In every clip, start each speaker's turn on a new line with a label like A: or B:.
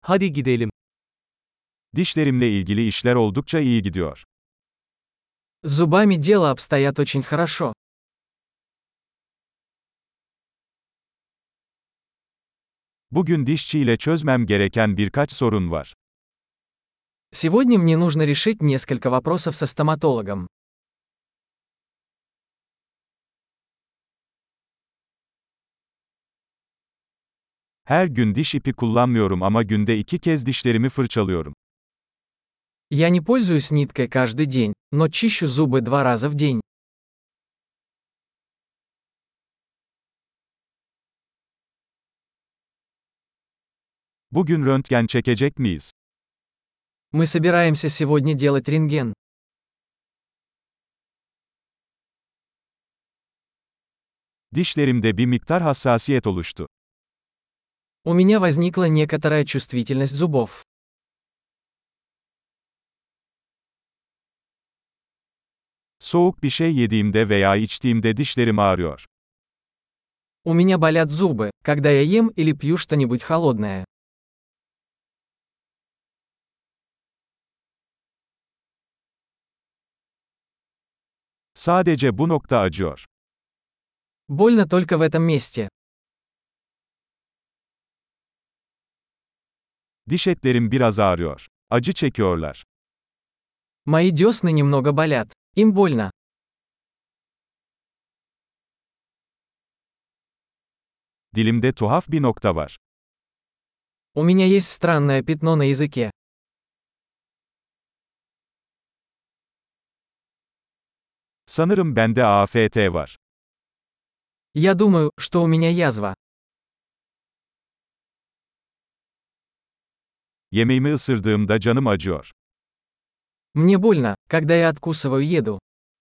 A: Hadi gidelim.
B: Dişlerimle ilgili işler oldukça iyi gidiyor.
C: С зубами дело обстоят очень хорошо.
B: Bugün dişçiyle çözmem gereken birkaç sorun var.
C: Сегодня мне нужно решить несколько вопросов со стоматологом.
B: Her gün diş ipi kullanmıyorum ama günde 2 kez dişlerimi fırçalıyorum.
C: Я не пользуюсь ниткой каждый день, но чищу зубы 2 раза в день.
B: Bugün röntgen çekecek miyiz?
C: Мы собираемся сегодня делать рентген.
B: Dişlerimde bir miktar hassasiyet oluştu.
C: У меня возникла некоторая чувствительность зубов.
B: Soğuk bir şey yediğimde veya içtiğimde dişlerim ağrıyor.
C: У меня болят зубы, когда я ем или пью что-нибудь холодное.
B: Sadece bu nokta acıyor.
C: Больно только в этом месте.
B: Diş etlerim biraz ağrıyor. Acı çekiyorlar.
C: Мои десны немного болят. Им больно.
B: Dilimde tuhaf bir nokta var.
C: У меня есть странное пятно на языке.
B: Sanırım bende AFT var.
C: Я думаю, что у меня язва.
B: Yemeğimi ısırdığımda canım acıyor.
C: Мне больно, когда я откусываю еду.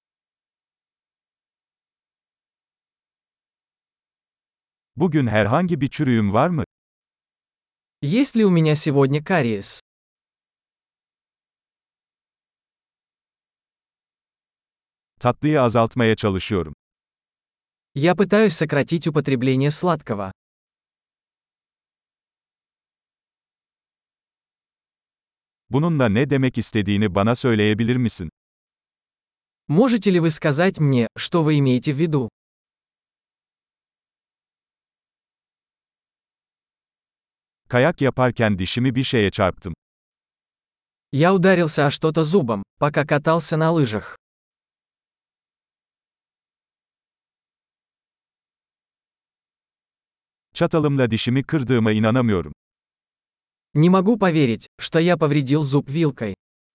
B: Bugün herhangi bir çürüğüm var mı?
C: Есть ли у меня сегодня кариес?
B: Tatlıyı azaltmaya çalışıyorum.
C: Я пытаюсь сократить употребление сладкого.
B: Bununla ne demek istediğini bana söyleyebilir misin?
C: Можете ли вы сказать мне, что вы имеете в виду?
B: Kayak yaparken dişimi bir şeye çarptım.
C: Я ударился о что-то зубом, пока катался на лыжах.
B: Çatalımla dişimi kırdığıma inanamıyorum.
C: Не могу поверить, что я повредил зуб вилкой.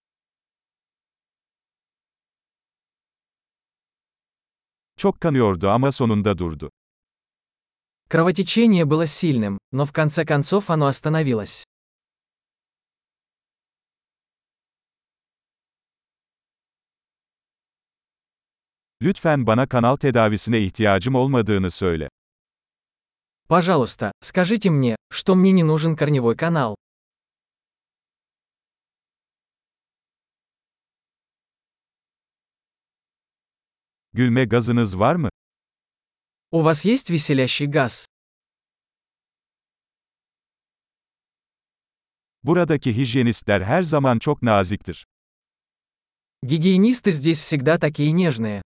B: Çok kanıyordu ama sonunda durdu.
C: Кровотечение было сильным, но в конце концов оно остановилось.
B: Lütfen bana kanal tedavisine ihtiyacım olmadığını söyle.
C: Пожалуйста, скажите мне, что мне не нужен корневой канал.
B: Gülme gazınız var mı?
C: У вас есть веселящий газ?
B: Buradaki hijyenistler her zaman çok naziktir.
C: Гигиенисты здесь всегда такие нежные.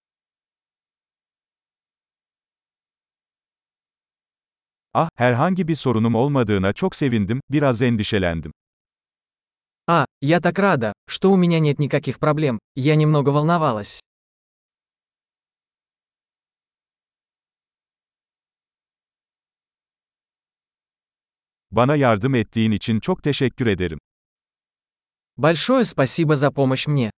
B: Ah, herhangi bir sorunum olmadığına çok sevindim, biraz endişelendim.
C: Я так рада, что у меня нет никаких проблем, я немного волновалась.
B: Bana yardım ettiğin için çok teşekkür ederim.
C: Большое спасибо за помощь мне.